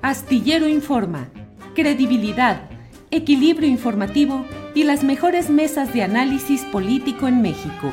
Astillero Informa, credibilidad, equilibrio informativo y las mejores mesas de análisis político en México.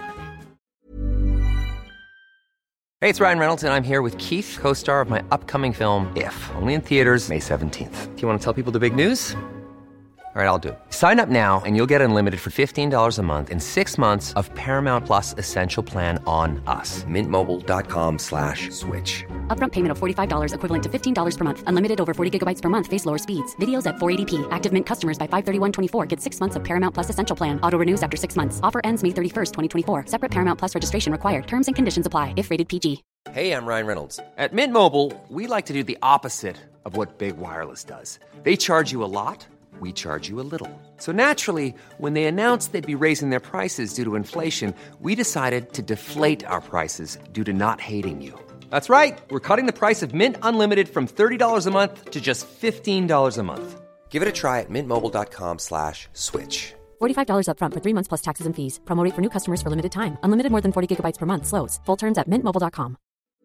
Hey, it's Ryan Reynolds, and I'm here with Keith, co-star of my upcoming film, If, only in theaters May 17th. Do you want to tell people the big news? All right, I'll do it. Sign up now and you'll get unlimited for $15 a month and 6 months of Paramount Plus Essential Plan on us. MintMobile.com/switch. Upfront payment of $45 equivalent to $15 per month. Unlimited over 40 gigabytes per month. Face lower speeds. Videos at 480p. Active Mint customers by 531.24 get 6 months of Paramount Plus Essential Plan. Auto renews after 6 months. Offer ends May 31st, 2024. Separate Paramount Plus registration required. Terms and conditions apply if rated PG. Hey, I'm Ryan Reynolds. At Mint Mobile, we like to do the opposite of what Big Wireless does. They charge you a lot. We charge you a little. So naturally, when they announced they'd be raising their prices due to inflation, we decided to deflate our prices due to not hating you. That's right. We're cutting the price of Mint Unlimited from $30 a month to just $15 a month. Give it a try at mintmobile.com/switch. $45 upfront for 3 months plus taxes and fees. Promo rate for new customers for limited time. Unlimited more than 40 gigabytes per month. Slows full terms at mintmobile.com.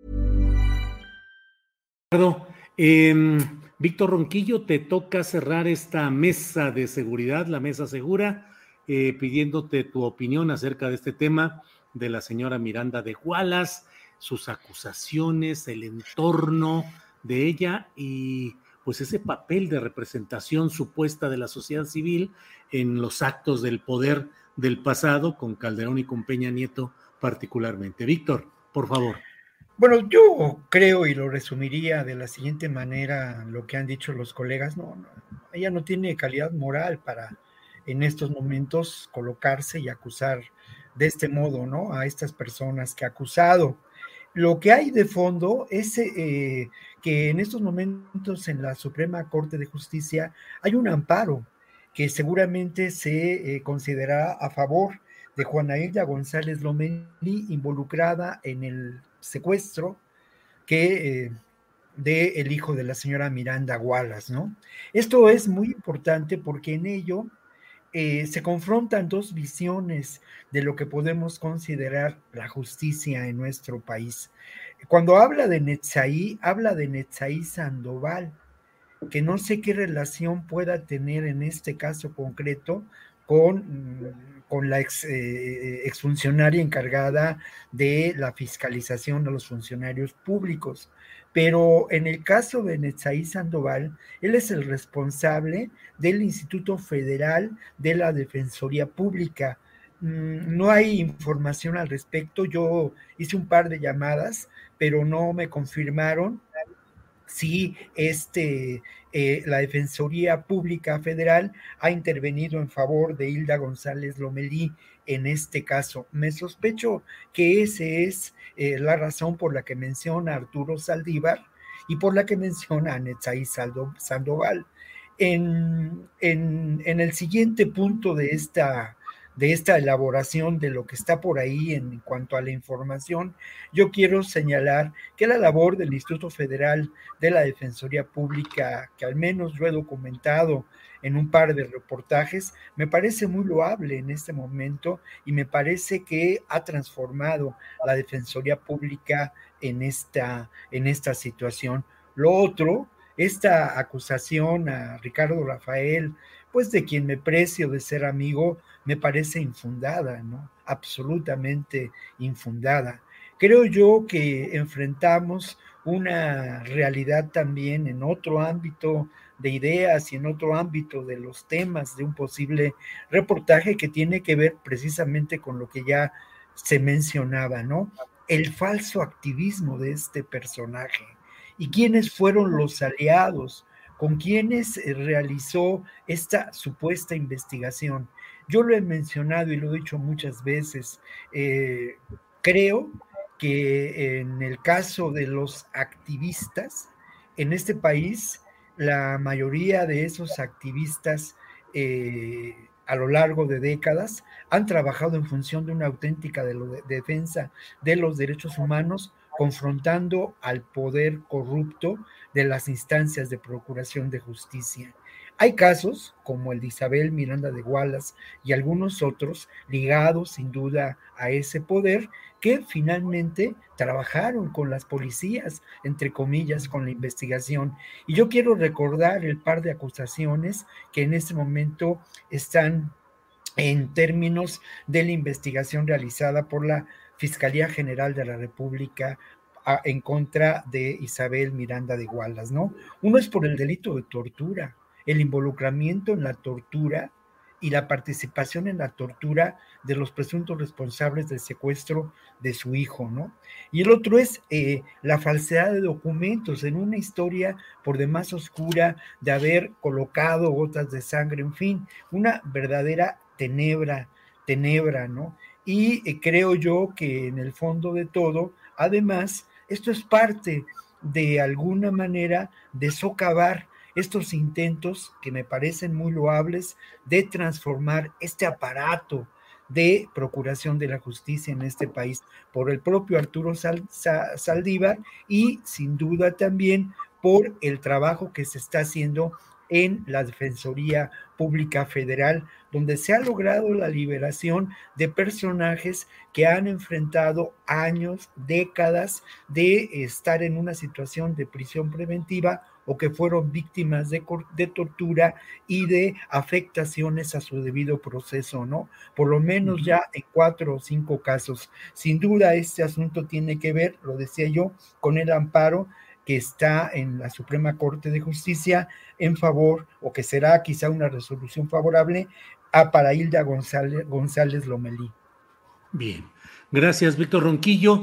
Víctor Ronquillo, te toca cerrar esta mesa de seguridad, la mesa segura, pidiéndote tu opinión acerca de este tema de la señora Miranda de Wallace, sus acusaciones, el entorno de ella y pues ese papel de representación supuesta de la sociedad civil en los actos del poder del pasado, con Calderón y con Peña Nieto particularmente. Víctor, por favor. Bueno, yo creo y lo resumiría de la siguiente manera, lo que han dicho los colegas, ella no tiene calidad moral para en estos momentos colocarse y acusar de este modo, ¿no? A estas personas que ha acusado. Lo que hay de fondo es que en estos momentos en la Suprema Corte de Justicia hay un amparo que seguramente se considerará a favor de Juana Hilda González Lomelí, involucrada en el secuestro de el hijo de la señora Miranda Wallace, ¿no? Esto es muy importante porque en ello se confrontan dos visiones de lo que podemos considerar la justicia en nuestro país. Cuando habla de Netzaí Sandoval, que no sé qué relación pueda tener en este caso concreto con la exfuncionaria encargada de la fiscalización de los funcionarios públicos. Pero en el caso de Netzaí Sandoval, él es el responsable del Instituto Federal de la Defensoría Pública. No hay información al respecto. Yo hice un par de llamadas, pero no me confirmaron si la Defensoría Pública Federal ha intervenido en favor de Hilda González Lomelí en este caso. Me sospecho que esa es la razón por la que menciona a Arturo Saldívar y por la que menciona a Netzaí Sandoval. En el siguiente punto de esta elaboración de lo que está por ahí en cuanto a la información, yo quiero señalar que la labor del Instituto Federal de la Defensoría Pública, que al menos yo he documentado en un par de reportajes, me parece muy loable en este momento y me parece que ha transformado la Defensoría Pública en esta situación. Lo otro, esta acusación a Ricardo Rafael, pues de quien me precio de ser amigo, me parece infundada, ¿no? Absolutamente infundada. Creo yo que enfrentamos una realidad también en otro ámbito de ideas y en otro ámbito de los temas de un posible reportaje que tiene que ver precisamente con lo que ya se mencionaba, ¿no? El falso activismo de este personaje y quiénes fueron los aliados con quienes realizó esta supuesta investigación. Yo lo he mencionado y lo he dicho muchas veces. Creo que en el caso de los activistas, en este país, la mayoría de esos activistas a lo largo de décadas han trabajado en función de una auténtica defensa de los derechos humanos confrontando al poder corrupto de las instancias de procuración de justicia. Hay casos, como el de Isabel Miranda de Wallace y algunos otros, ligados sin duda a ese poder, que finalmente trabajaron con las policías, entre comillas, con la investigación. Y yo quiero recordar el par de acusaciones que en este momento están en términos de la investigación realizada por la Fiscalía General de la República en contra de Isabel Miranda de Wallace, ¿no? Uno es por el delito de tortura, el involucramiento en la tortura y la participación en la tortura de los presuntos responsables del secuestro de su hijo, ¿no? Y el otro es la falsedad de documentos en una historia por demás oscura de haber colocado gotas de sangre, en fin, una verdadera tenebra, ¿no? Y creo yo que en el fondo de todo, además, esto es parte de alguna manera de socavar estos intentos que me parecen muy loables de transformar este aparato de procuración de la justicia en este país por el propio Arturo Saldívar y sin duda también por el trabajo que se está haciendo en la Defensoría Pública Federal, donde se ha logrado la liberación de personajes que han enfrentado años, décadas de estar en una situación de prisión preventiva o que fueron víctimas de tortura y de afectaciones a su debido proceso, ¿no? Por lo menos ya en 4 o 5 casos. Sin duda este asunto tiene que ver, lo decía yo, con el amparo que está en la Suprema Corte de Justicia en favor, o que será quizá una resolución favorable, para Hilda González Lomelí. Bien, gracias, Víctor Ronquillo.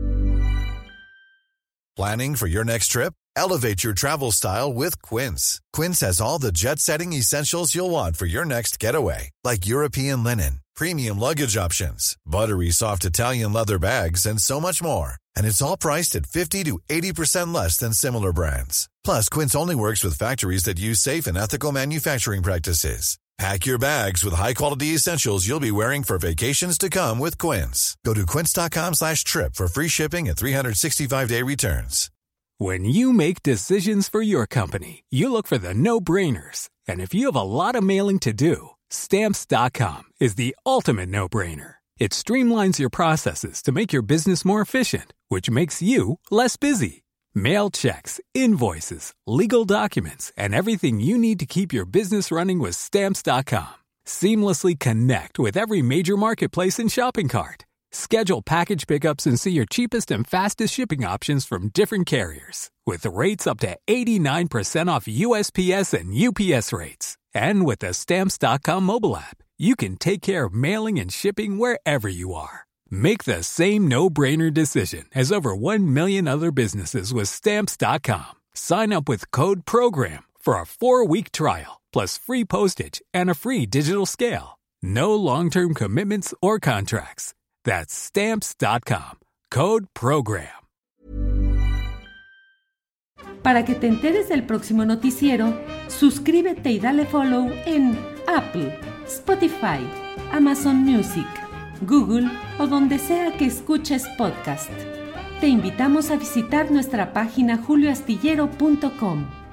Planning for your next trip? Elevate your travel style with Quince. Quince has all the jet-setting essentials you'll want for your next getaway, like European linen, premium luggage options, buttery soft Italian leather bags, and so much more. And it's all priced at 50 to 80% less than similar brands. Plus, Quince only works with factories that use safe and ethical manufacturing practices. Pack your bags with high-quality essentials you'll be wearing for vacations to come with Quince. Go to quince.com/trip for free shipping and 365-day returns. When you make decisions for your company, you look for the no-brainers. And if you have a lot of mailing to do, Stamps.com is the ultimate no-brainer. It streamlines your processes to make your business more efficient, which makes you less busy. Mail checks, invoices, legal documents, and everything you need to keep your business running with Stamps.com. Seamlessly connect with every major marketplace and shopping cart. Schedule package pickups and see your cheapest and fastest shipping options from different carriers, with rates up to 89% off USPS and UPS rates. And with the Stamps.com mobile app, you can take care of mailing and shipping wherever you are. Make the same no-brainer decision as over 1 million other businesses with Stamps.com. Sign up with code PROGRAM for a 4-week trial, plus free postage and a free digital scale. No long-term commitments or contracts. That's Stamps.com. Code PROGRAM. Para que te enteres del próximo noticiero, suscríbete y dale follow en Apple, Spotify, Amazon Music, Google o donde sea que escuches podcast. Te invitamos a visitar nuestra página julioastillero.com.